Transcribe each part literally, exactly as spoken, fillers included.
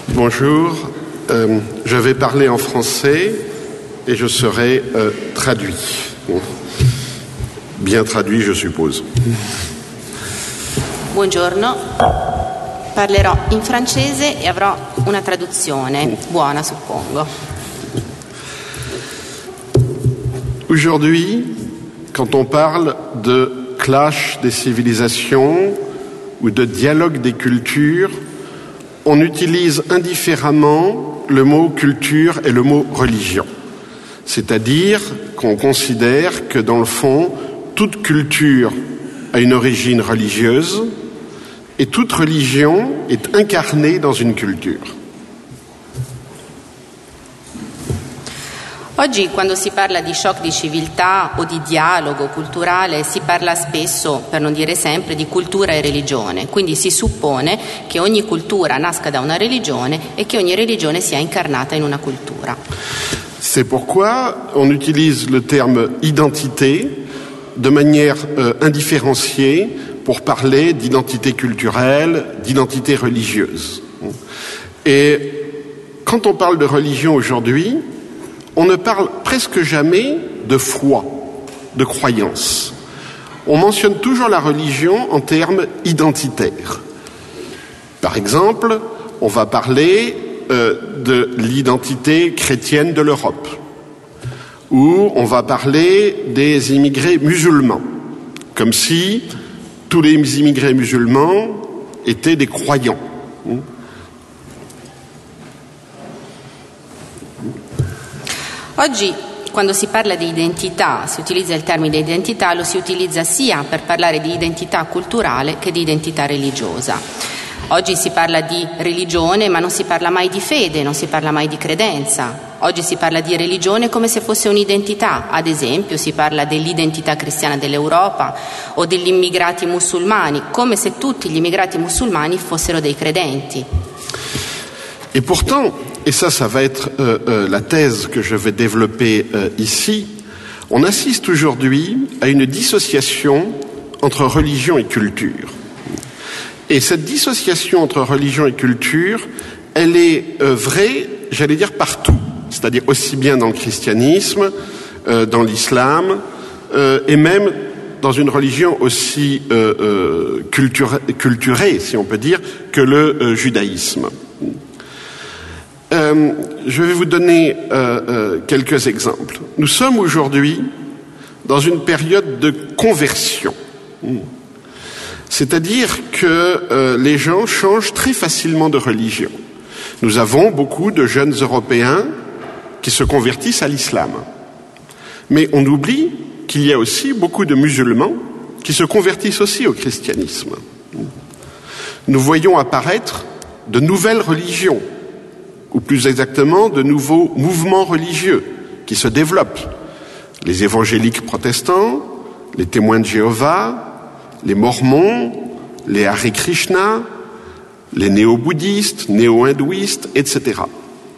Bonjour, euh, je vais parler en français et je serai euh, traduit. Bon. Bien traduit, je suppose. Buongiorno, parlerò in francese e avrò una traduzione buona, suppongo. Aujourd'hui, quand on parle de clash des civilisations ou de dialogue des cultures, on utilise indifféremment le mot culture et le mot religion. C'est-à-dire qu'on considère que dans le fond, toute culture a une origine religieuse et toute religion est incarnée dans une culture. Oggi, quando si parla di shock di civiltà o di dialogo culturale, si parla spesso, per non dire sempre, di cultura e religione. Quindi si suppone che ogni cultura nasca da una religione e che ogni religione sia incarnata in una cultura. C'est pourquoi on utilise le terme identité de manière euh, indifférenciée pour parler d'identité culturelle, d'identité religieuse. Et quand on parle de religion aujourd'hui, on ne parle presque jamais de foi, de croyance. On mentionne toujours la religion en termes identitaires. Par exemple, on va parler euh, de l'identité chrétienne de l'Europe, ou on va parler des immigrés musulmans, comme si tous les immigrés musulmans étaient des croyants. Oggi, quando si parla di identità, si utilizza il termine identità, lo si utilizza sia per parlare di identità culturale che di identità religiosa. Oggi si parla di religione, ma non si parla mai di fede, non si parla mai di credenza. Oggi si parla di religione come se fosse un'identità. Ad esempio, si parla dell'identità cristiana dell'Europa o degli immigrati musulmani, come se tutti gli immigrati musulmani fossero dei credenti. Et pourtant, et ça, ça va être euh, euh, la thèse que je vais développer euh, ici, on assiste aujourd'hui à une dissociation entre religion et culture. Et cette dissociation entre religion et culture, elle est euh, vraie, j'allais dire, partout. C'est-à-dire aussi bien dans le christianisme, euh, dans l'islam, euh, et même dans une religion aussi euh, euh, culture, culturée, si on peut dire, que le euh, judaïsme. Euh, je vais vous donner euh, euh, quelques exemples. Nous sommes aujourd'hui dans une période de conversion. C'est-à-dire que euh, les gens changent très facilement de religion. Nous avons beaucoup de jeunes Européens qui se convertissent à l'islam. Mais on oublie qu'il y a aussi beaucoup de musulmans qui se convertissent aussi au christianisme. Nous voyons apparaître de nouvelles religions, ou plus exactement de nouveaux mouvements religieux qui se développent. Les évangéliques protestants, les témoins de Jéhovah, les mormons, les Hare Krishna, les néo-bouddhistes, néo-hindouistes, et cetera.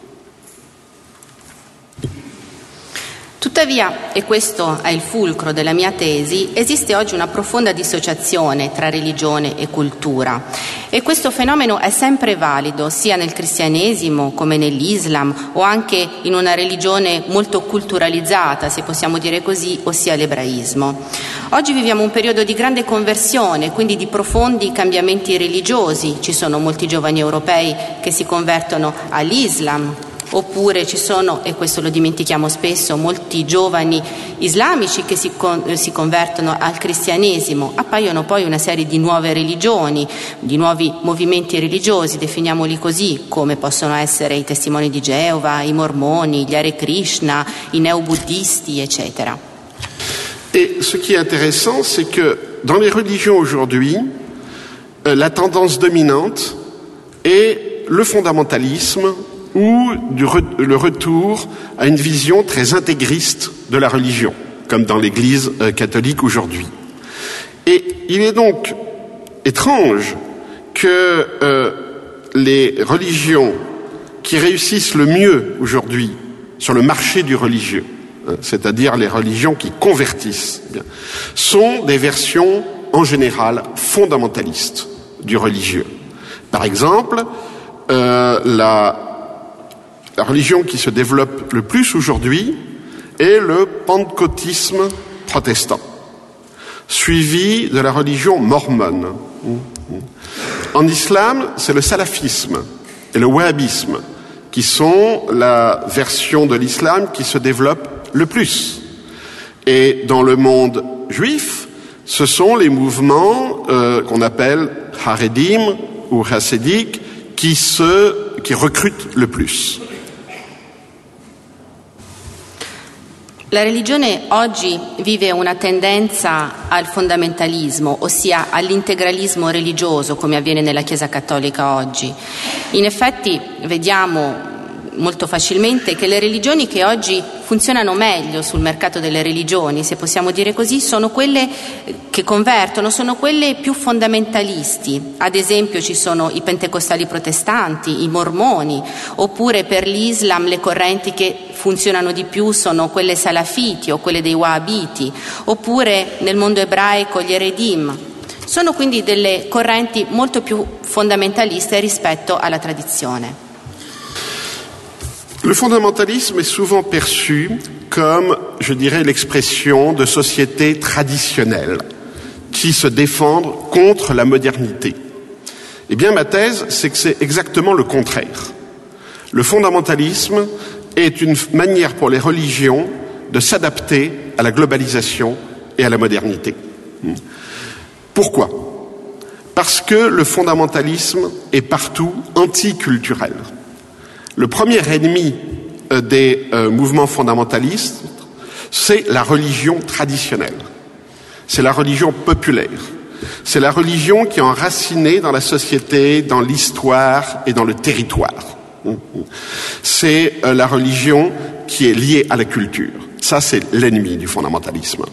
Tuttavia, e questo è il fulcro della mia tesi, esiste oggi una profonda dissociazione tra religione e cultura. E questo fenomeno è sempre valido, sia nel cristianesimo come nell'Islam, o anche in una religione molto culturalizzata, se possiamo dire così, ossia l'ebraismo. Oggi viviamo un periodo di grande conversione, quindi di profondi cambiamenti religiosi. Ci sono molti giovani europei che si convertono all'Islam, oppure ci sono, e questo lo dimentichiamo spesso, molti giovani islamici che si, con, si convertono al cristianesimo. Appaiono poi una serie di nuove religioni, di nuovi movimenti religiosi, definiamoli così, come possono essere i testimoni di Geova, i mormoni, gli Hare Krishna, i neobuddisti, eccetera. Et ce qui est intéressant, c'est que dans les religions aujourd'hui, euh, la tendance dominante est le fondamentalisme ou du re, le retour à une vision très intégriste de la religion, comme dans l'Église euh, catholique aujourd'hui. Et il est donc étrange que euh, les religions qui réussissent le mieux aujourd'hui sur le marché du religieux, hein, c'est-à-dire les religions qui convertissent, bien, sont des versions en général fondamentalistes du religieux. Par exemple, euh, la, la religion qui se développe le plus aujourd'hui est le pentecôtisme protestant, suivi de la religion mormone. En islam, c'est le salafisme et le wahhabisme qui sont la version de l'islam qui se développe le plus. Et dans le monde juif, ce sont les mouvements euh, qu'on appelle haredim ou chassidiques qui se qui recrutent le plus. La religione oggi vive una tendenza al fondamentalismo, ossia all'integralismo religioso, come avviene nella Chiesa Cattolica oggi. In effetti vediamo molto facilmente che le religioni che oggi funzionano meglio sul mercato delle religioni, se possiamo dire così, sono quelle che convertono, sono quelle più fondamentalisti. Ad esempio ci sono i pentecostali protestanti, i mormoni, oppure per l'Islam le correnti che funzionano di più sono quelle salafiti o quelle dei wahhabiti, oppure nel mondo ebraico gli eredim. Sono quindi delle correnti molto più fondamentaliste rispetto alla tradizione. Le fondamentalisme est souvent perçu comme, je dirais, l'expression de sociétés traditionnelles qui se défendent contre la modernité. Eh bien, ma thèse, c'est que c'est exactement le contraire. Le fondamentalisme est une manière pour les religions de s'adapter à la globalisation et à la modernité. Pourquoi ? Parce que le fondamentalisme est partout anticulturel. Le premier ennemi des euh, mouvements fondamentalistes, c'est la religion traditionnelle. C'est la religion populaire. C'est la religion qui est enracinée dans la société, dans l'histoire et dans le territoire. C'est euh, la religion qui est liée à la culture. Ça, c'est l'ennemi du fondamentalisme.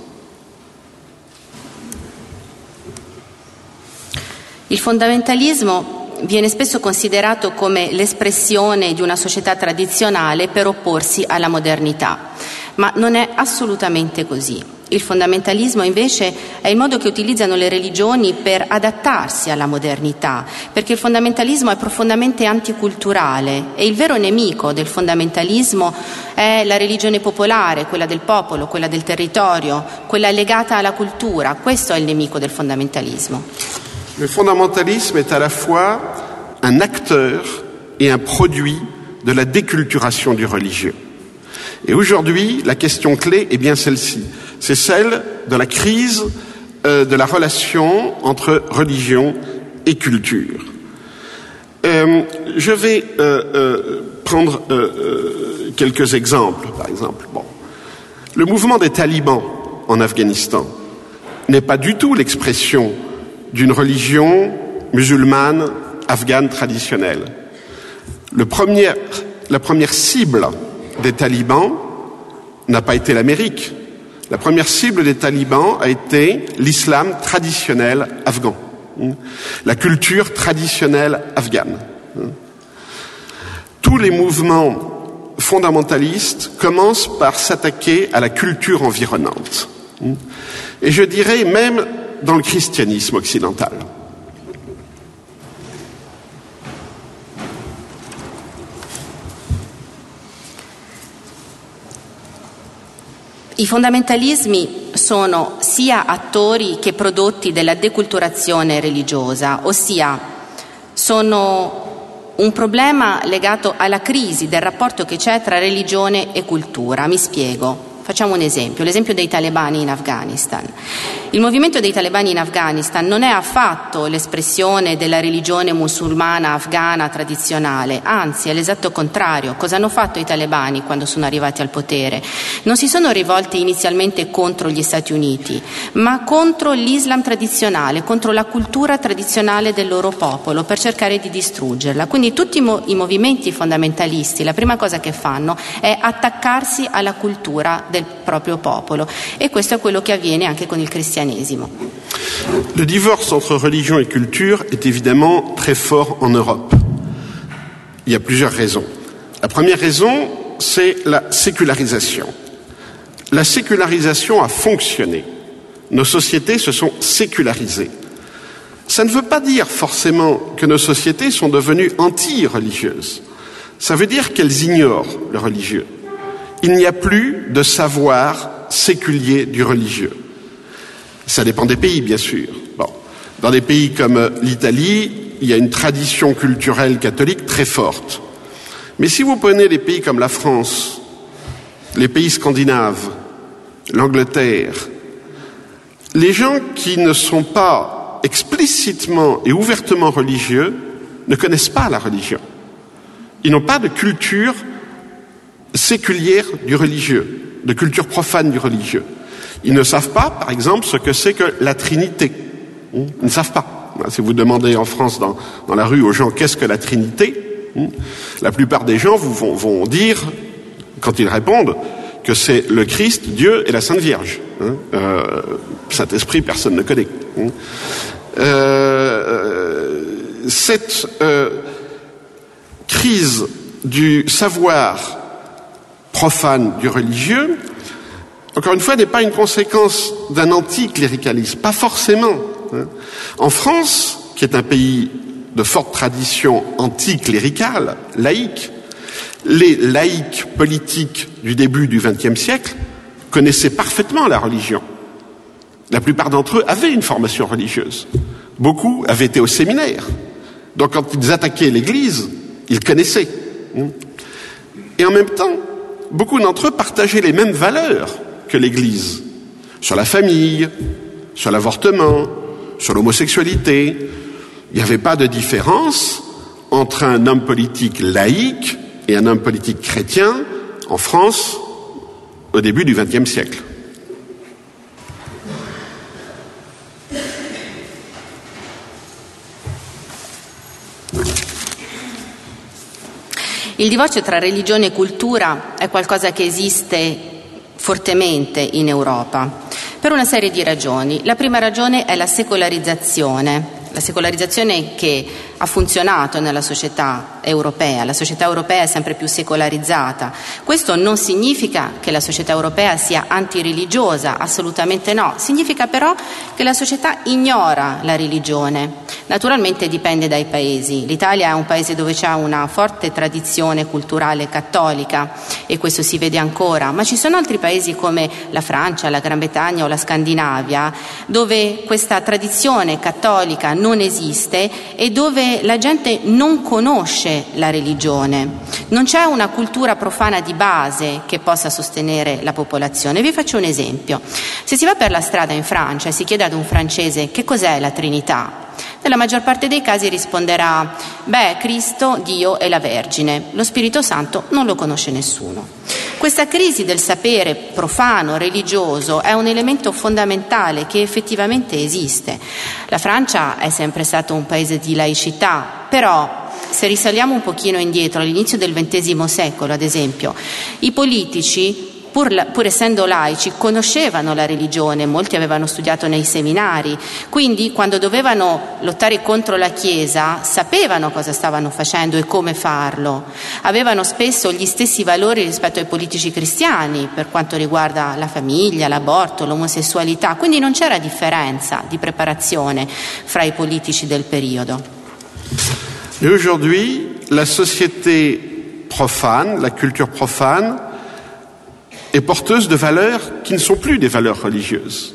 Il fondamentalismo viene spesso considerato come l'espressione di una società tradizionale per opporsi alla modernità, ma non è assolutamente così. Il fondamentalismo invece è il modo che utilizzano le religioni per adattarsi alla modernità, perché il fondamentalismo è profondamente anticulturale e il vero nemico del fondamentalismo è la religione popolare, quella del popolo, quella del territorio, quella legata alla cultura. Questo è il nemico del fondamentalismo. Le fondamentalisme est à la fois un acteur et un produit de la déculturation du religieux. Et aujourd'hui, la question clé est bien celle-ci. C'est celle de la crise euh, de la relation entre religion et culture. Euh, je vais euh, euh, prendre euh, euh, quelques exemples. Par exemple, bon, le mouvement des talibans en Afghanistan n'est pas du tout l'expression d'une religion musulmane afghane traditionnelle. Le premier, la première cible des talibans n'a pas été l'Amérique. La première cible des talibans a été l'islam traditionnel afghan, la culture traditionnelle afghane. Tous les mouvements fondamentalistes commencent par s'attaquer à la culture environnante. Et je dirais même dans le christianisme occidental. I fondamentalismi sono sia attori che prodotti della deculturazione religiosa, ossia sono un problema legato alla crisi del rapporto che c'è tra religione e cultura. Mi spiego. Facciamo un esempio, l'esempio dei talebani in Afghanistan. Il movimento dei talebani in Afghanistan non è affatto l'espressione della religione musulmana afghana tradizionale, anzi è l'esatto contrario. Cosa hanno fatto i talebani quando sono arrivati al potere? Non si sono rivolti inizialmente contro gli Stati Uniti, ma contro l'Islam tradizionale, contro la cultura tradizionale del loro popolo, per cercare di distruggerla. Quindi tutti i, mo- i movimenti fondamentalisti, la prima cosa che fanno è attaccarsi alla cultura del proprio popolo, e questo è quello che avviene anche con il cristianesimo. Le divorce entre religion et culture est évidemment très fort en Europe. Il y a plusieurs raisons. La première raison, c'est la sécularisation. La sécularisation a fonctionné. Nos sociétés se sont sécularisées. Ça ne veut pas dire forcément que nos sociétés sont devenues anti-religieuses. Ça veut dire qu'elles ignorent le religieux. Il n'y a plus de savoir séculier du religieux. Ça dépend des pays, bien sûr. Bon. Dans des pays comme l'Italie, il y a une tradition culturelle catholique très forte. Mais si vous prenez des pays comme la France, les pays scandinaves, l'Angleterre, les gens qui ne sont pas explicitement et ouvertement religieux ne connaissent pas la religion. Ils n'ont pas de culture séculière du religieux, de culture profane du religieux. Ils ne savent pas, par exemple, ce que c'est que la Trinité. Ils ne savent pas. Si vous demandez en France, dans, dans la rue, aux gens, qu'est-ce que la Trinité, la plupart des gens vous vont, vont dire, quand ils répondent, que c'est le Christ, Dieu et la Sainte Vierge. Euh, Saint-Esprit, personne ne connaît. Euh, cette euh, crise du savoir profane du religieux, encore une fois, n'est pas une conséquence d'un anticléricalisme, pas forcément. En France, qui est un pays de forte tradition anticléricale, laïque, les laïcs politiques du début du vingtième siècle connaissaient parfaitement la religion. La plupart d'entre eux avaient une formation religieuse. Beaucoup avaient été au séminaire. Donc quand ils attaquaient l'Église, ils connaissaient. Et en même temps, beaucoup d'entre eux partageaient les mêmes valeurs que l'Église, sur la famille, sur l'avortement, sur l'homosexualité. Il n'y avait pas de différence entre un homme politique laïque et un homme politique chrétien en France au début du vingtième siècle. Il divorzio tra religione e cultura è qualcosa che esiste fortemente in Europa, per una serie di ragioni. La prima ragione è la secolarizzazione, la secolarizzazione che ha funzionato nella società europea. La società europea è sempre più secolarizzata. Questo non significa che la società europea sia antireligiosa, assolutamente no. Significa però che la società ignora la religione. Naturalmente dipende dai paesi. L'Italia è un paese dove c'è una forte tradizione culturale cattolica e questo si vede ancora, ma ci sono altri paesi come la Francia, la Gran Bretagna o la Scandinavia dove questa tradizione cattolica non esiste e dove la gente non conosce la religione. Non c'è una cultura profana di base che possa sostenere la popolazione. Vi faccio un esempio. Se si va per la strada in Francia e si chiede ad un francese che cos'è la Trinità, nella maggior parte dei casi risponderà: beh, Cristo, Dio e la Vergine. Lo Spirito Santo non lo conosce nessuno. Questa crisi del sapere profano, religioso, è un elemento fondamentale che effettivamente esiste. La Francia è sempre stato un paese di laicità, però se risaliamo un pochino indietro, all'inizio del ventesimo secolo, ad esempio, i politici, Pur, pur essendo laici, conoscevano la religione, molti avevano studiato nei seminari, quindi quando dovevano lottare contro la Chiesa sapevano cosa stavano facendo e come farlo. Avevano spesso gli stessi valori rispetto ai politici cristiani per quanto riguarda la famiglia, l'aborto, l'omosessualità, quindi non c'era differenza di preparazione fra i politici del periodo. Et aujourd'hui, la société profane, la culture profane, est porteuse de valeurs qui ne sont plus des valeurs religieuses.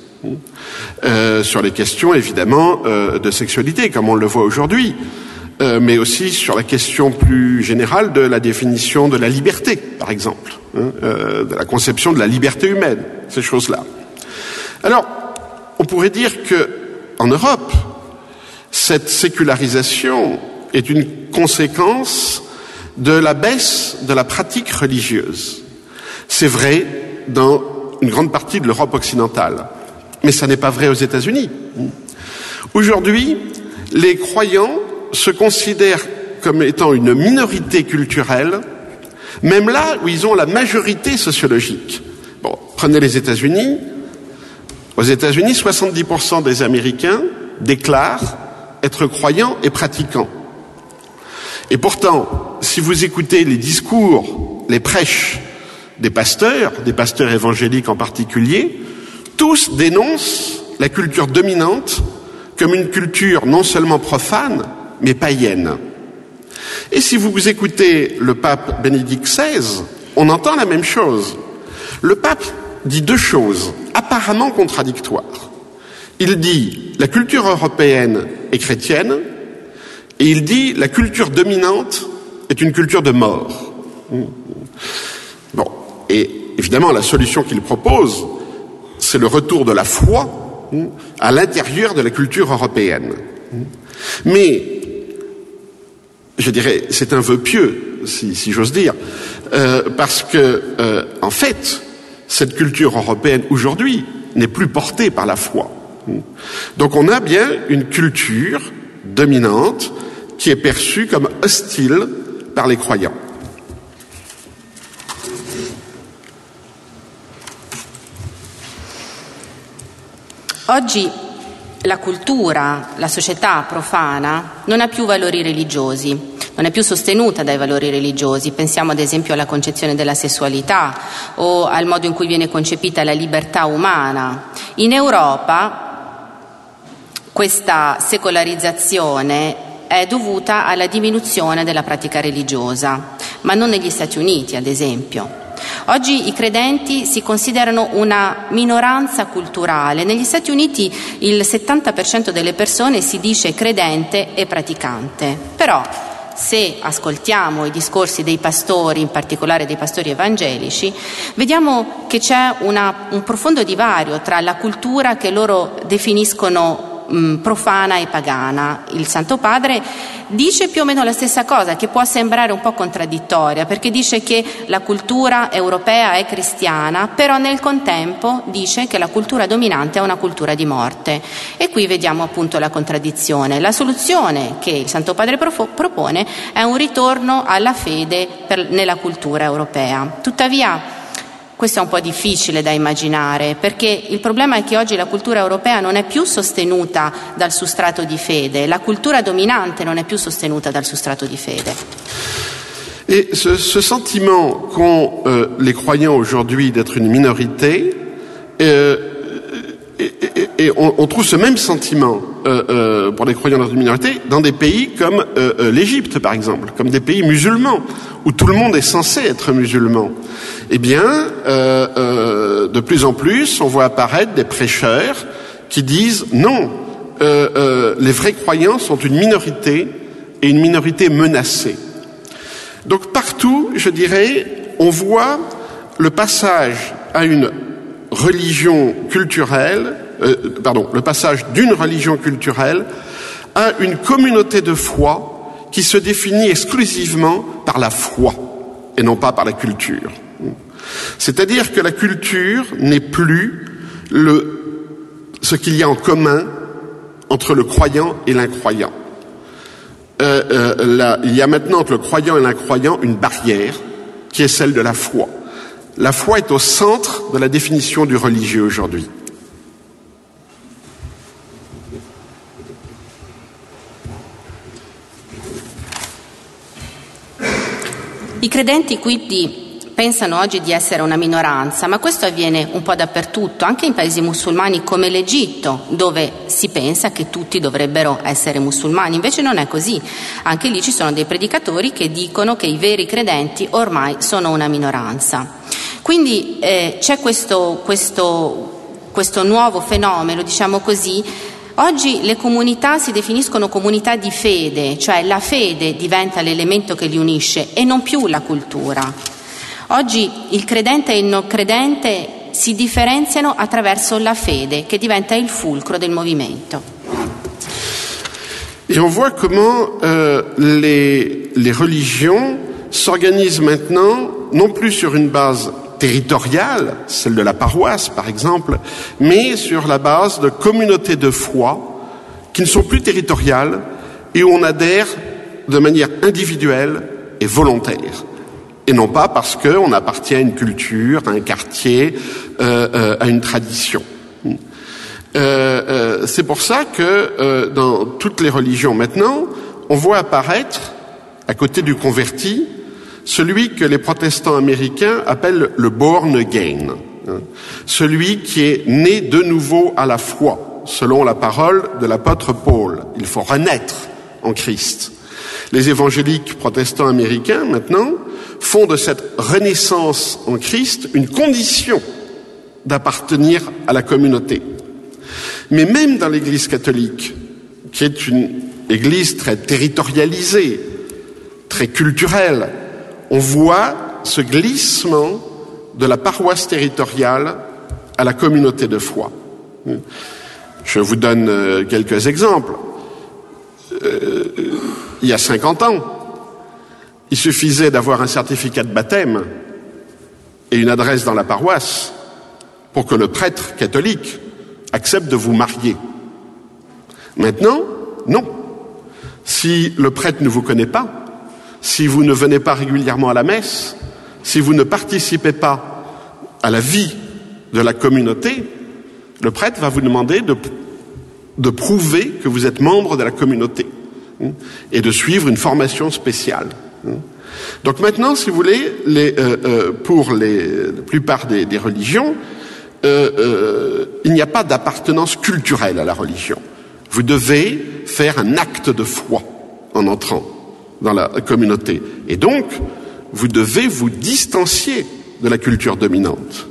Euh, sur les questions, évidemment, euh, de sexualité, comme on le voit aujourd'hui, euh, mais aussi sur la question plus générale de la définition de la liberté, par exemple, hein, euh, de la conception de la liberté humaine, ces choses-là. Alors, on pourrait dire que, en Europe, cette sécularisation est une conséquence de la baisse de la pratique religieuse. C'est vrai dans une grande partie de l'Europe occidentale, mais ça n'est pas vrai aux États-Unis. Aujourd'hui, les croyants se considèrent comme étant une minorité culturelle, même là où ils ont la majorité sociologique. Bon, prenez les États-Unis. Aux États-Unis, soixante-dix pour cent des Américains déclarent être croyants et pratiquants. Et pourtant, si vous écoutez les discours, les prêches des pasteurs, des pasteurs évangéliques en particulier, tous dénoncent la culture dominante comme une culture non seulement profane, mais païenne. Et si vous écoutez le pape Bénédicte seize, on entend la même chose. Le pape dit deux choses apparemment contradictoires. Il dit la culture européenne est chrétienne et il dit la culture dominante est une culture de mort. Bon, et évidemment la solution qu'il propose, c'est le retour de la foi à l'intérieur de la culture européenne. Mais, je dirais, c'est un vœu pieux, si, si j'ose dire, euh, parce que, euh, en fait, cette culture européenne aujourd'hui n'est plus portée par la foi. Donc on a bien une culture dominante qui est perçue comme hostile par les croyants. Oggi la cultura, la società profana non ha più valori religiosi, non è più sostenuta dai valori religiosi. Pensiamo ad esempio alla concezione della sessualità o al modo in cui viene concepita la libertà umana. In Europa questa secolarizzazione è dovuta alla diminuzione della pratica religiosa, ma non negli Stati Uniti, ad esempio. Oggi i credenti si considerano una minoranza culturale. Negli Stati Uniti il settanta per cento delle persone si dice credente e praticante. Però se ascoltiamo i discorsi dei pastori, in particolare dei pastori evangelici, vediamo che c'è una, un profondo divario tra la cultura che loro definiscono profana e pagana. Il Santo Padre dice più o meno la stessa cosa, che può sembrare un po' contraddittoria, perché dice che la cultura europea è cristiana, però nel contempo dice che la cultura dominante è una cultura di morte. E qui vediamo appunto la contraddizione. La soluzione che il Santo Padre propone è un ritorno alla fede per, nella cultura europea. Tuttavia questo è un po' difficile da immaginare, perché il problema è che oggi la cultura europea non è più sostenuta dal sustrato di fede, la cultura dominante non è più sostenuta dal sustrato di fede. Et ce, ce sentiment qu'ont euh, les croyants aujourd'hui d'être une minorité, euh, et, et, et on, on trouve ce même sentiment euh, euh, pour les croyants dans une minorité dans des pays comme euh, euh, l'Égypte, par exemple, comme des pays musulmans, où tout le monde est censé être musulman. Eh bien, euh, euh, de plus en plus, on voit apparaître des prêcheurs qui disent non, euh, euh, les vrais croyants sont une minorité et une minorité menacée. Donc partout, je dirais, on voit le passage à une religion culturelle, euh, pardon, le passage d'une religion culturelle à une communauté de foi qui se définit exclusivement par la foi et non pas par la culture. C'est-à-dire que la culture n'est plus le, ce qu'il y a en commun entre le croyant et l'incroyant. Euh, euh, là, il y a maintenant entre le croyant et l'incroyant une barrière qui est celle de la foi. La foi est au centre de la définition du religieux aujourd'hui. I credenti quindi pensano oggi di essere una minoranza, ma questo avviene un po' dappertutto, anche in paesi musulmani come l'Egitto, dove si pensa che tutti dovrebbero essere musulmani. Invece non è così. Anche lì ci sono dei predicatori che dicono che i veri credenti ormai sono una minoranza. Quindi eh, c'è questo, questo, questo nuovo fenomeno, diciamo così. Oggi le comunità si definiscono comunità di fede, cioè la fede diventa l'elemento che li unisce e non più la cultura. Oggi il credente e il non credente si differenziano attraverso la fede, che diventa il fulcro del movimento. Et on voit comment euh, les, les religions s'organisent maintenant, non plus sur une base territoriale, celle de la paroisse par exemple, mais sur la base de communautés de foi qui ne sont plus territoriales et où on adhère de manière individuelle et volontaire. Et non pas parce qu'on appartient à une culture, à un quartier, euh, euh, à une tradition. Euh, euh, c'est pour ça que euh, dans toutes les religions maintenant, on voit apparaître, à côté du converti, celui que les protestants américains appellent le born again, hein, celui qui est né de nouveau à la foi. selon la parole de l'apôtre Paul. Il faut renaître en Christ. Les évangéliques protestants américains, maintenant, font de cette renaissance en Christ une condition d'appartenir à la communauté. Mais même dans l'Église catholique, qui est une Église très territorialisée, très culturelle, on voit ce glissement de la paroisse territoriale à la communauté de foi. Je vous donne quelques exemples. Euh, il y a cinquante ans, il suffisait d'avoir un certificat de baptême et une adresse dans la paroisse pour que le prêtre catholique accepte de vous marier. Maintenant, non. Si le prêtre ne vous connaît pas, si vous ne venez pas régulièrement à la messe, si vous ne participez pas à la vie de la communauté, le prêtre va vous demander de, de prouver que vous êtes membre de la communauté et de suivre une formation spéciale. Donc maintenant, si vous voulez, les, euh, euh, pour les, la plupart des, des religions, euh, euh, il n'y a pas d'appartenance culturelle à la religion. Vous devez faire un acte de foi en entrant dans la communauté. Et donc, vous devez vous distancier de la culture dominante.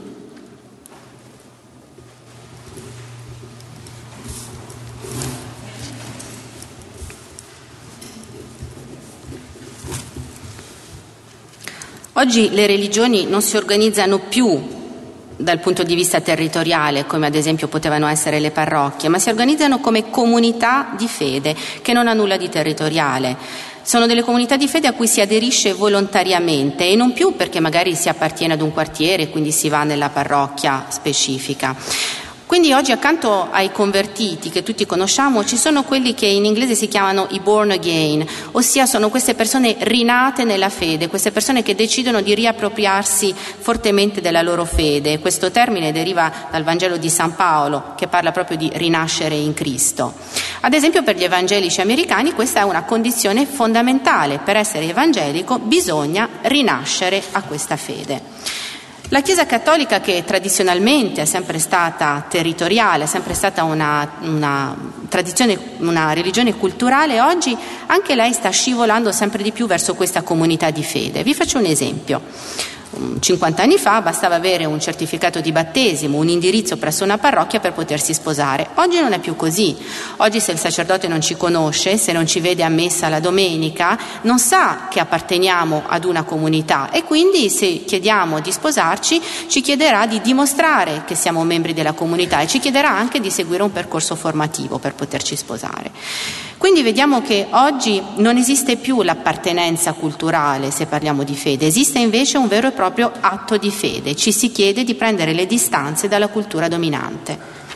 Oggi le religioni non si organizzano più dal punto di vista territoriale, come ad esempio potevano essere le parrocchie, ma si organizzano come comunità di fede, che non ha nulla di territoriale. Sono delle comunità di fede a cui si aderisce volontariamente e non più perché magari si appartiene ad un quartiere e quindi si va nella parrocchia specifica. Quindi oggi accanto ai convertiti che tutti conosciamo ci sono quelli che in inglese si chiamano i born again, ossia sono queste persone rinate nella fede, queste persone che decidono di riappropriarsi fortemente della loro fede. Questo termine deriva dal Vangelo di San Paolo, che parla proprio di rinascere in Cristo. Ad esempio per gli evangelici americani questa è una condizione fondamentale. Per essere evangelico bisogna rinascere a questa fede. La Chiesa cattolica, che tradizionalmente è sempre stata territoriale, è sempre stata una, una tradizione, una religione culturale, oggi anche lei sta scivolando sempre di più verso questa comunità di fede. Vi faccio un esempio. cinquanta anni fa bastava avere un certificato di battesimo, un indirizzo presso una parrocchia per potersi sposare. Oggi non è più così. Oggi se il sacerdote non ci conosce, se non ci vede a messa la domenica, non sa che apparteniamo ad una comunità e quindi se chiediamo di sposarci ci chiederà di dimostrare che siamo membri della comunità e ci chiederà anche di seguire un percorso formativo per poterci sposare. Quindi vediamo che oggi non esiste più l'appartenenza culturale se parliamo di fede, esiste invece un vero e proprio atto di fede, ci si chiede di prendere le distanze dalla cultura dominante.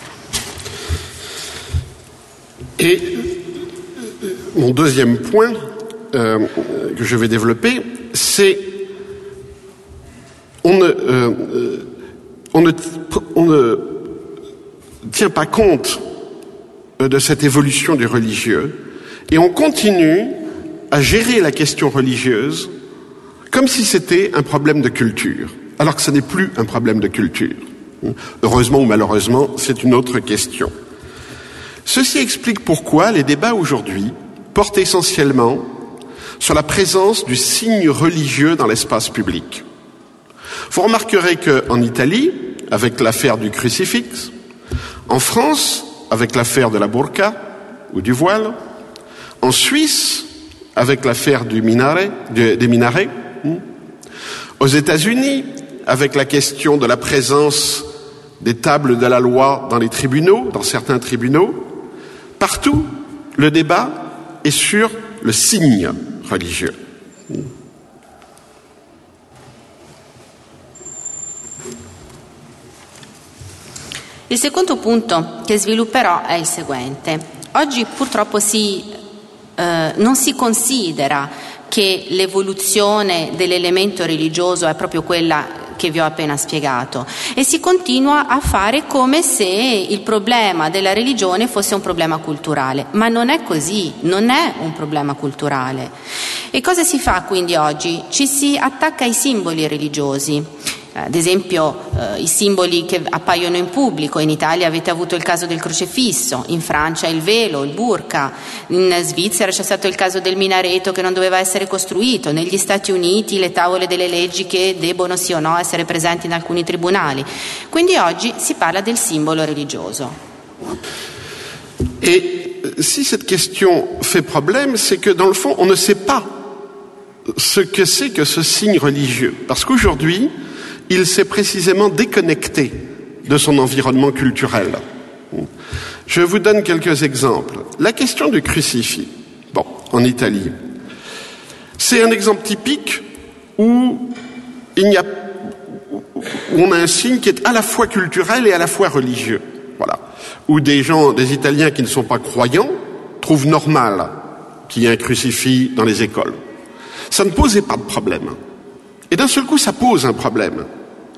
Et mon deuxième point euh, que je vais développer, c'est on ne, euh, on ne, on ne tient pas compte de cette évolution du religieux et on continue à gérer la question religieuse comme si c'était un problème de culture, alors que ce n'est plus un problème de culture. Heureusement ou malheureusement, c'est une autre question. Ceci explique pourquoi les débats aujourd'hui portent essentiellement sur la présence du signe religieux dans l'espace public. Vous remarquerez qu'en Italie, avec l'affaire du crucifix, en France, avec l'affaire de la burqa ou du voile, en Suisse, avec l'affaire du minaret, du, des minarets, aux États-Unis, avec la question de la présence des tables de la loi dans les tribunaux, dans certains tribunaux, partout, le débat est sur le signe religieux. Il secondo punto che svilupperò è il seguente. Oggi purtroppo si, eh, non si considera che l'evoluzione dell'elemento religioso è proprio quella che vi ho appena spiegato e si continua a fare come se il problema della religione fosse un problema culturale, ma non è così, non è un problema culturale. E cosa si fa quindi oggi? Ci si attacca ai simboli religiosi. Ad esempio eh, i simboli che appaiono in pubblico, in Italia avete avuto il caso del crocefisso, in Francia il velo, il burqa, in Svizzera c'è stato il caso del minareto che non doveva essere costruito, negli Stati Uniti le tavole delle leggi che debbono sì o no essere presenti in alcuni tribunali. Quindi oggi si parla del simbolo religioso. Et si cette question fait problème, c'est que dans le fond, on ne sait pas ce que c'est que ce signe religieux. Parce qu'aujourd'hui, il s'est précisément déconnecté de son environnement culturel. Je vous donne quelques exemples. La question du crucifix, bon, en Italie, c'est un exemple typique où il y a, où on a un signe qui est à la fois culturel et à la fois religieux. Voilà. Où des gens, des Italiens qui ne sont pas croyants, trouvent normal qu'il y ait un crucifix dans les écoles. Ça ne posait pas de problème. Et d'un seul coup, ça pose un problème. Pourquoi ?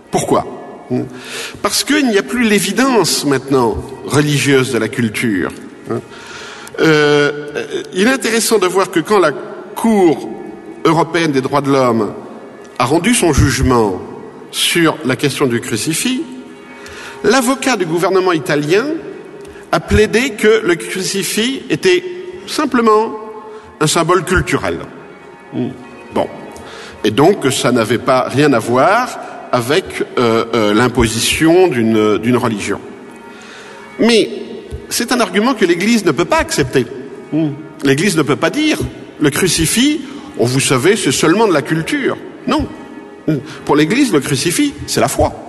Parce qu'il n'y a plus l'évidence maintenant religieuse de la culture. Euh, il est intéressant de voir que quand la Cour européenne des droits de l'homme a rendu son jugement sur la question du crucifix, l'avocat du gouvernement italien a plaidé que le crucifix était simplement un symbole culturel. Bon. Et donc, ça n'avait pas rien à voir avec euh, euh, l'imposition d'une, d'une religion. Mais c'est un argument que l'Église ne peut pas accepter. L'Église ne peut pas dire le crucifix, oh, vous savez, c'est seulement de la culture. Non. Pour l'Église, le crucifix, c'est la foi.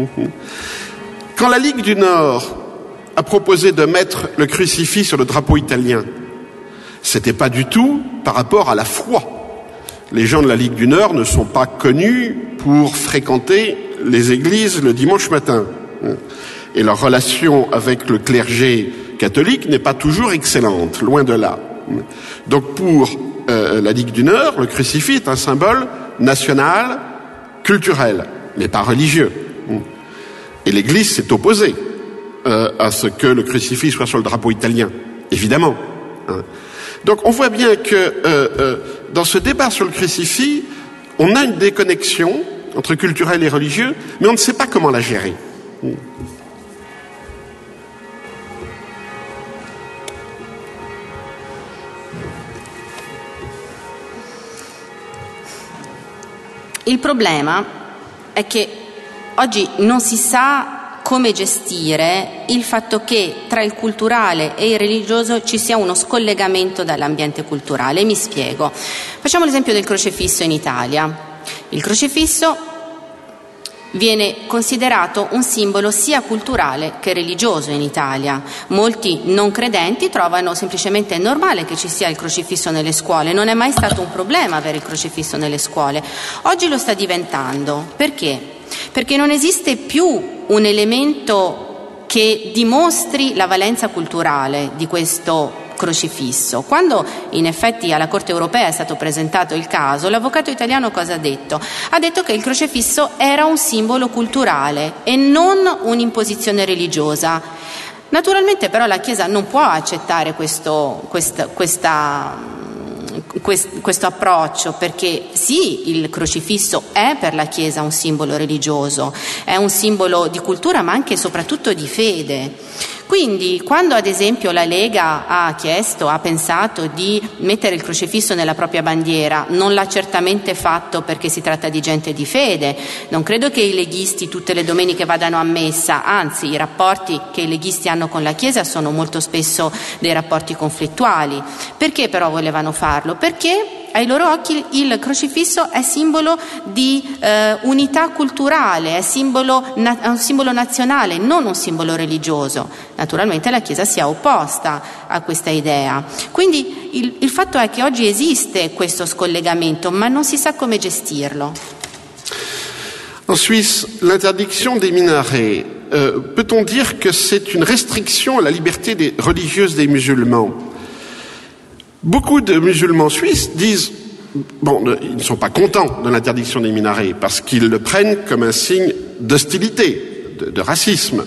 Quand la Ligue du Nord a proposé de mettre le crucifix sur le drapeau italien, c'était pas du tout par rapport à la foi. Les gens de la Ligue du Nord ne sont pas connus pour fréquenter les églises le dimanche matin. Et leur relation avec le clergé catholique n'est pas toujours excellente, loin de là. Donc pour euh, la Ligue du Nord, le crucifix est un symbole national, culturel, mais pas religieux. Et l'Église s'est opposée euh, à ce que le crucifix soit sur le drapeau italien, évidemment. Donc on voit bien que euh, euh, dans ce débat sur le crucifix, on a une déconnexion entre culturel et religieux, mais on ne sait pas comment la gérer. Il problema è che oggi non si sa come gestire il fatto che tra il culturale e il religioso ci sia uno scollegamento dall'ambiente culturale. Mi spiego. Facciamo l'esempio del crocefisso in Italia. Il crocefisso viene considerato un simbolo sia culturale che religioso in Italia. Molti non credenti trovano semplicemente normale che ci sia il crocifisso nelle scuole. Non è mai stato un problema avere il crocifisso nelle scuole. Oggi lo sta diventando. Perché? Perché non esiste più un elemento che dimostri la valenza culturale di questo crocifisso. Quando in effetti alla Corte europea è stato presentato il caso, l'avvocato italiano cosa ha detto? Ha detto che il crocifisso era un simbolo culturale e non un'imposizione religiosa. Naturalmente però la Chiesa non può accettare questo, questa, questa questo approccio, perché sì, il crocifisso è per la Chiesa un simbolo religioso, è un simbolo di cultura ma anche e soprattutto di fede. Quindi quando ad esempio la Lega ha chiesto, ha pensato di mettere il crocifisso nella propria bandiera, non l'ha certamente fatto perché si tratta di gente di fede. Non credo che i leghisti tutte le domeniche vadano a messa, anzi i rapporti che i leghisti hanno con la Chiesa sono molto spesso dei rapporti conflittuali. Perché però volevano farlo? Perché ai loro occhi il crocifisso è simbolo di eh, unità culturale, è, simbolo, na- è un simbolo nazionale, non un simbolo religioso. Naturalmente la Chiesa si è opposta a questa idea. Quindi il, il fatto è che oggi esiste questo scollegamento, ma non si sa come gestirlo. En Suisse, l'interdiction des minarets, euh, peut-on dire que c'est une restriction à la liberté des, religieuse des musulmans ? Beaucoup de musulmans suisses disent, bon, ils ne sont pas contents de l'interdiction des minarets parce qu'ils le prennent comme un signe d'hostilité, de, de racisme.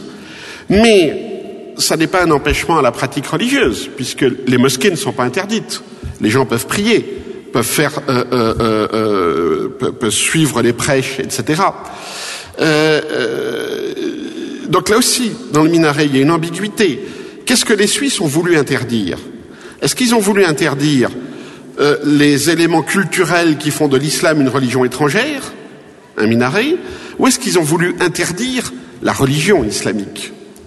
Mais ça n'est pas un empêchement à la pratique religieuse puisque les mosquées ne sont pas interdites. Les gens peuvent prier, peuvent faire, euh, euh, euh, peuvent, peuvent suivre les prêches, et cetera. Euh, euh, donc là aussi, dans le minaret, il y a une ambiguïté. Qu'est-ce que les Suisses ont voulu interdire? Est-ce qu'ils ont voulu interdire euh, les éléments culturels qui font de l'islam une religion étrangère, un minaret, ou est-ce qu'ils ont voulu interdire la religion islamique?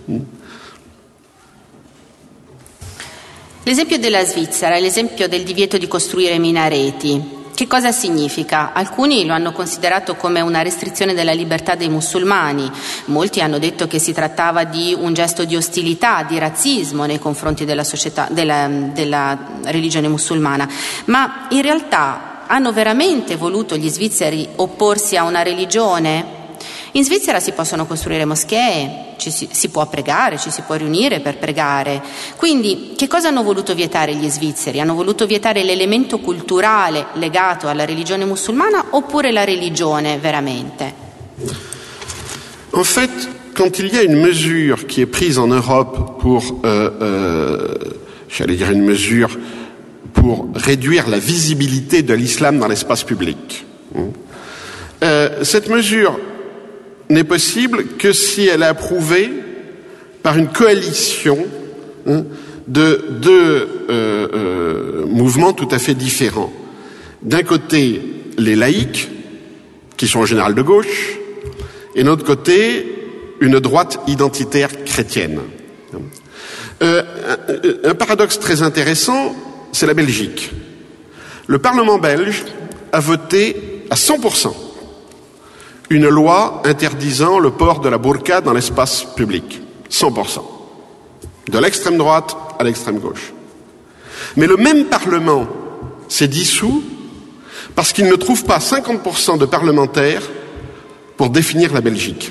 L'esempio della Svizzera è l'esempio del divieto di costruire minareti. Che cosa significa? Alcuni lo hanno considerato come una restrizione della libertà dei musulmani, molti hanno detto che si trattava di un gesto di ostilità, di razzismo nei confronti della società, della, della religione musulmana, ma in realtà hanno veramente voluto gli svizzeri opporsi a una religione? In Svizzera si possono costruire moschee, ci si, si può pregare, ci si può riunire per pregare. Quindi che cosa hanno voluto vietare gli svizzeri? Hanno voluto vietare l'elemento culturale legato alla religione musulmana oppure la religione veramente? En fait, quand il y a une mesure qui est prise en Europe pour, euh, euh, j'allais dire une mesure pour réduire la visibilité de l'islam dans l'espace public, euh, cette mesure n'est possible que si elle est approuvée par une coalition hein, de deux euh, euh, mouvements tout à fait différents. D'un côté, les laïcs, qui sont en général de gauche, et de l'autre côté, une droite identitaire chrétienne. Euh, un, un paradoxe très intéressant, c'est la Belgique. Le Parlement belge a voté à cent pour cent une loi interdisant le port de la burqa dans l'espace public. cent pour cent. De l'extrême droite à l'extrême gauche. Mais le même Parlement s'est dissous parce qu'il ne trouve pas cinquante pour cent de parlementaires pour définir la Belgique.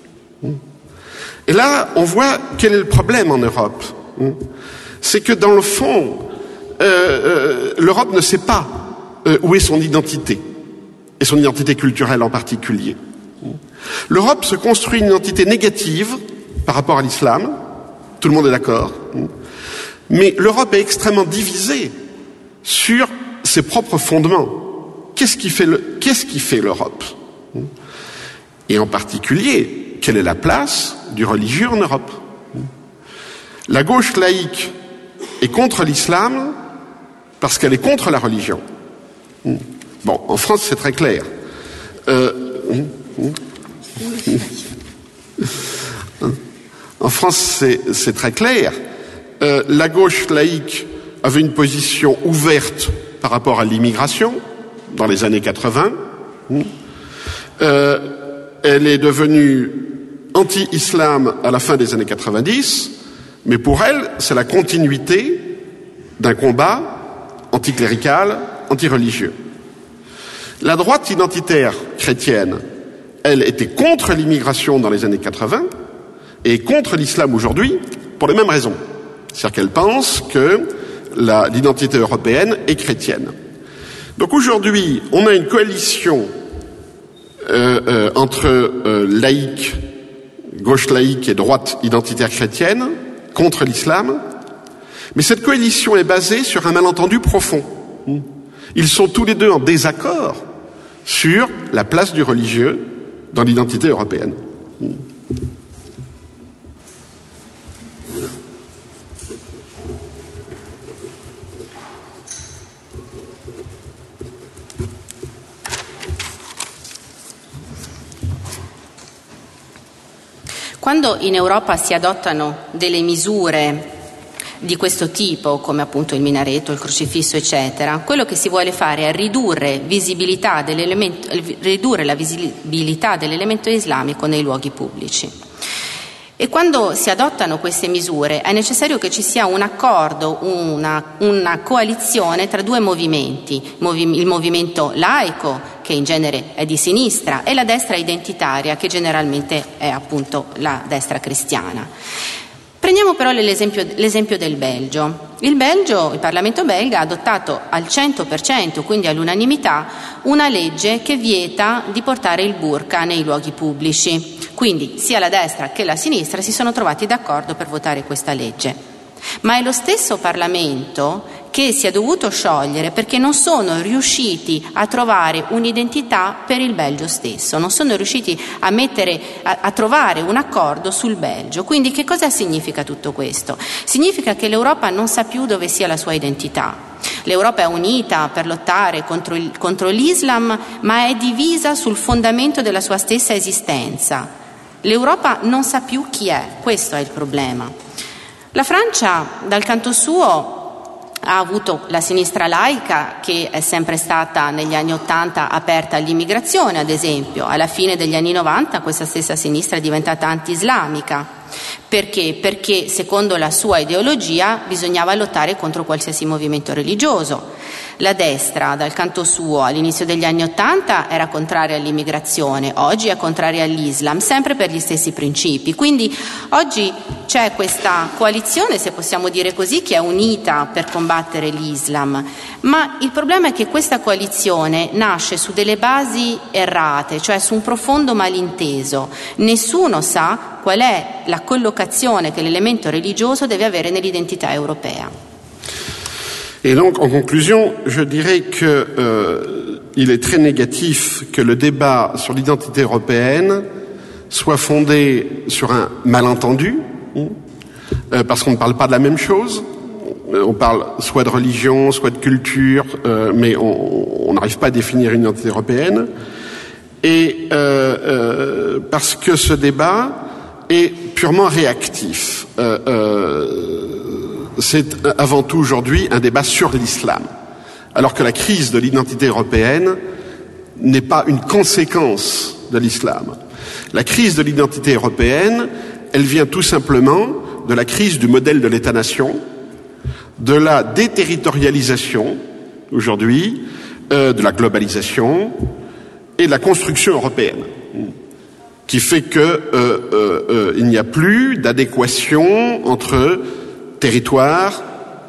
Et là, on voit quel est le problème en Europe. C'est que dans le fond, euh, euh, l'Europe ne sait pas euh, où est son identité. Et son identité culturelle en particulier. L'Europe se construit une identité négative par rapport à l'islam, tout le monde est d'accord, mais l'Europe est extrêmement divisée sur ses propres fondements. Qu'est-ce qui fait, le, qu'est-ce qui fait l'Europe? Et en particulier, quelle est la place du religieux en Europe? La gauche laïque est contre l'islam parce qu'elle est contre la religion. Bon, en France, c'est très clair. Euh, en France, c'est, c'est très clair. Euh, la gauche laïque avait une position ouverte par rapport à l'immigration dans les années quatre-vingts. Euh, elle est devenue anti-islam à la fin des années quatre-vingt-dix, mais pour elle, c'est la continuité d'un combat anticlérical, antireligieux. La droite identitaire chrétienne, elle était contre l'immigration dans les années quatre-vingts et contre l'islam aujourd'hui pour les mêmes raisons. C'est-à-dire qu'elle pense que la, l'identité européenne est chrétienne. Donc aujourd'hui, on a une coalition euh, euh, entre euh, laïcs, gauche laïque et droite identitaire chrétienne contre l'islam, mais cette coalition est basée sur un malentendu profond. Ils sont tous les deux en désaccord sur la place du religieux dans l'identité européenne. Quando in Europa si adottano delle misure di questo tipo, come appunto il minareto, il crocifisso, eccetera, quello che si vuole fare è ridurre, visibilità dell'elemento, ridurre la visibilità dell'elemento islamico nei luoghi pubblici. E quando si adottano queste misure è necessario che ci sia un accordo, una, una coalizione tra due movimenti, il movimento laico, che in genere è di sinistra, e la destra identitaria, che generalmente è appunto la destra cristiana. Prendiamo però l'esempio, l'esempio del Belgio. Il Belgio, il Parlamento belga, ha adottato al cento per cento, quindi all'unanimità, una legge che vieta di portare il burqa nei luoghi pubblici. Quindi sia la destra che la sinistra si sono trovati d'accordo per votare questa legge. Ma è lo stesso Parlamento che si è dovuto sciogliere perché non sono riusciti a trovare un'identità per il Belgio stesso, non sono riusciti a, mettere, a, a trovare un accordo sul Belgio. Quindi che cosa significa tutto questo? Significa che l'Europa non sa più dove sia la sua identità. L'Europa è unita per lottare contro, il, contro l'Islam, ma è divisa sul fondamento della sua stessa esistenza. L'Europa non sa più chi è, questo è il problema. La Francia, dal canto suo, ha avuto la sinistra laica, che è sempre stata negli anni Ottanta aperta all'immigrazione, ad esempio. Alla fine degli anni Novanta questa stessa sinistra è diventata anti-islamica. Perché? Perché secondo la sua ideologia bisognava lottare contro qualsiasi movimento religioso. La destra, dal canto suo, all'inizio degli anni Ottanta era contraria all'immigrazione, oggi è contraria all'Islam, sempre per gli stessi principi. Quindi oggi c'è questa coalizione, se possiamo dire così, che è unita per combattere l'Islam, ma il problema è che questa coalizione nasce su delle basi errate, cioè su un profondo malinteso. Nessuno sa qual è la collocazione che l'elemento religioso deve avere nell'identità europea. Et donc, en conclusion, je dirais que euh, il est très négatif que le débat sur l'identité européenne soit fondé sur un malentendu, euh, parce qu'on ne parle pas de la même chose. On parle soit de religion, soit de culture, euh, mais on n'arrive pas à définir une identité européenne. Et euh, euh, parce que ce débat est purement réactif. Euh, euh, c'est avant tout aujourd'hui un débat sur l'islam, alors que la crise de l'identité européenne n'est pas une conséquence de l'islam. La crise de l'identité européenne, elle vient tout simplement de la crise du modèle de l'État-nation, de la déterritorialisation aujourd'hui, euh, de la globalisation et de la construction européenne, qui fait que euh, euh, euh, il n'y a plus d'adéquation entre territoire,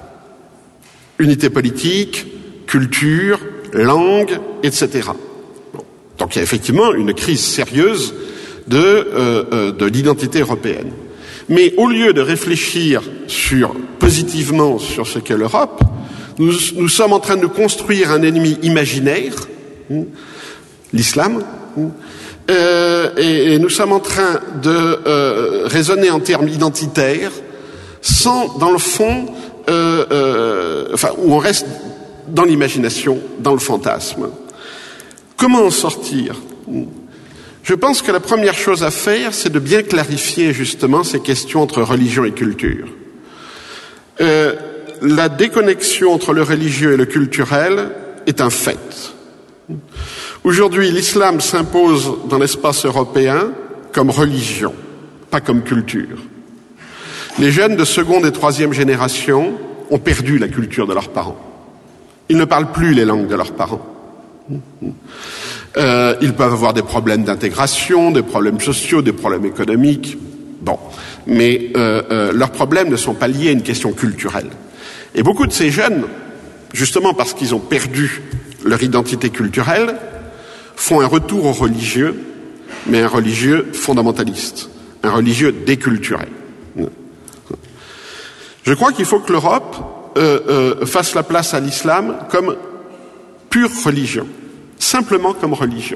unité politique, culture, langue, et cetera. Bon. Donc il y a effectivement une crise sérieuse de, euh, euh, de l'identité européenne. Mais au lieu de réfléchir sur, positivement sur ce qu'est l'Europe, nous, nous sommes en train de construire un ennemi imaginaire, l'islam, euh, et, et nous sommes en train de euh, raisonner en termes identitaires, sans, dans le fond, euh, euh, enfin, où on reste dans l'imagination, dans le fantasme. Comment en sortir ? Je pense que la première chose à faire, c'est de bien clarifier justement ces questions entre religion et culture. Euh, la déconnexion entre le religieux et le culturel est un fait. Aujourd'hui, l'islam s'impose dans l'espace européen comme religion, pas comme culture. Les jeunes de seconde et troisième génération ont perdu la culture de leurs parents. Ils ne parlent plus les langues de leurs parents. Euh, ils peuvent avoir des problèmes d'intégration, des problèmes sociaux, des problèmes économiques. Bon, mais euh, euh, leurs problèmes ne sont pas liés à une question culturelle. Et beaucoup de ces jeunes, justement parce qu'ils ont perdu leur identité culturelle, font un retour au religieux, mais un religieux fondamentaliste, un religieux déculturé. Je crois qu'il faut que l'Europe euh, euh, fasse la place à l'islam comme pure religion, simplement comme religion,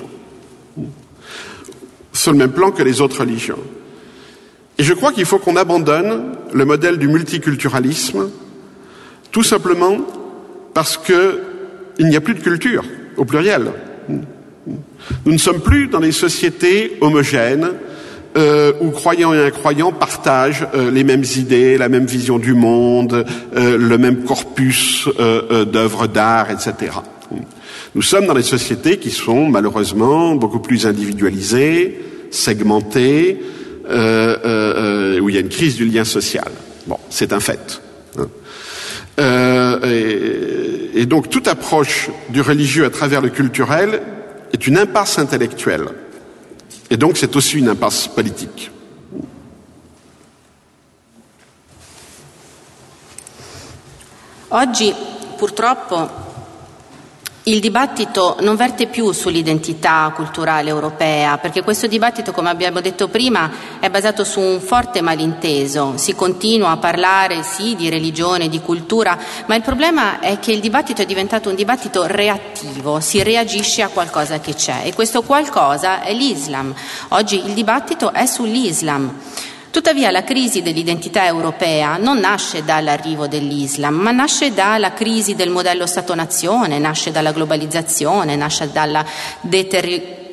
sur le même plan que les autres religions. Et je crois qu'il faut qu'on abandonne le modèle du multiculturalisme, tout simplement parce que il n'y a plus de culture, au pluriel. Nous ne sommes plus dans des sociétés homogènes, Euh, où croyants et incroyants partagent euh, les mêmes idées, la même vision du monde, euh, le même corpus euh, euh, d'œuvres d'art, et cetera. Nous sommes dans des sociétés qui sont malheureusement beaucoup plus individualisées, segmentées, euh, euh, où il y a une crise du lien social. Bon, c'est un fait. Hein. Euh, et, et donc toute approche du religieux à travers le culturel est une impasse intellectuelle. Et donc c'est aussi une impasse politique. Oggi purtroppo Il dibattito non verte più sull'identità culturale europea, perché questo dibattito, come abbiamo detto prima, è basato su un forte malinteso. Si continua a parlare, sì, di religione, di cultura, ma il problema è che il dibattito è diventato un dibattito reattivo, si reagisce a qualcosa che c'è, e questo qualcosa è l'Islam. Oggi il dibattito è sull'Islam. Tuttavia la crisi dell'identità europea non nasce dall'arrivo dell'Islam, ma nasce dalla crisi del modello Stato-nazione, nasce dalla globalizzazione, nasce dalla deterri-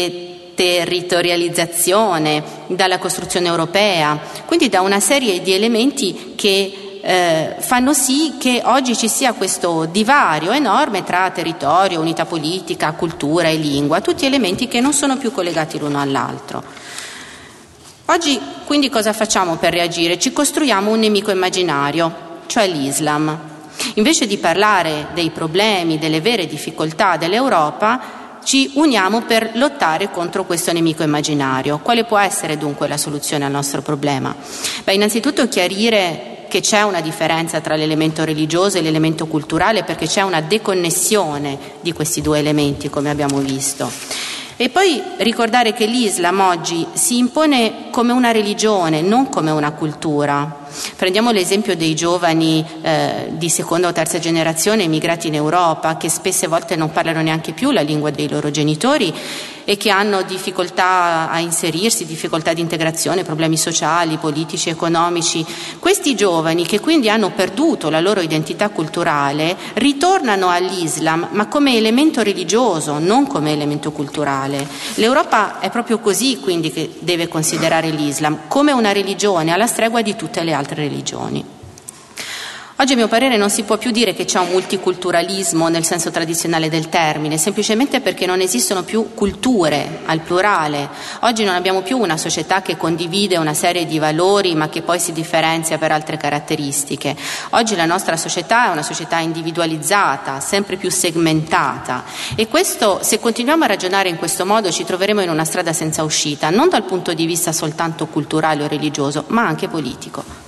deterritorializzazione, dalla costruzione europea, quindi da una serie di elementi che eh, fanno sì che oggi ci sia questo divario enorme tra territorio, unità politica, cultura e lingua, tutti elementi che non sono più collegati l'uno all'altro. Oggi quindi cosa facciamo per reagire? Ci costruiamo un nemico immaginario, cioè l'Islam. Invece di parlare dei problemi, delle vere difficoltà dell'Europa, ci uniamo per lottare contro questo nemico immaginario. Quale può essere dunque la soluzione al nostro problema? Beh, innanzitutto chiarire che c'è una differenza tra l'elemento religioso e l'elemento culturale, perché c'è una deconnessione di questi due elementi, come abbiamo visto. E poi ricordare che l'Islam oggi si impone come una religione, non come una cultura. Prendiamo l'esempio dei giovani eh, di seconda o terza generazione emigrati in Europa, che spesse volte non parlano neanche più la lingua dei loro genitori e che hanno difficoltà a inserirsi, difficoltà di integrazione, problemi sociali, politici, economici. Questi giovani, che quindi hanno perduto la loro identità culturale, ritornano all'Islam, ma come elemento religioso, non come elemento culturale. L'Europa è proprio così, quindi, che deve considerare l'Islam, come una religione alla stregua di tutte le altre religioni. Oggi, a mio parere, non si può più dire che c'è un multiculturalismo nel senso tradizionale del termine, semplicemente perché non esistono più culture al plurale. Oggi non abbiamo più una società che condivide una serie di valori ma che poi si differenzia per altre caratteristiche. Oggi la nostra società è una società individualizzata, sempre più segmentata, e questo, se continuiamo a ragionare in questo modo, ci troveremo in una strada senza uscita, non dal punto di vista soltanto culturale o religioso, ma anche politico.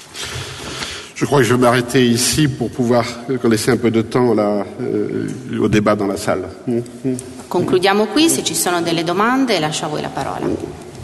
Je crois que je vais m'arrêter ici pour pouvoir laisser un peu de temps là, euh, au débat dans la salle. Concludiamo qui, se ci sono delle domande lascio a voi la parola.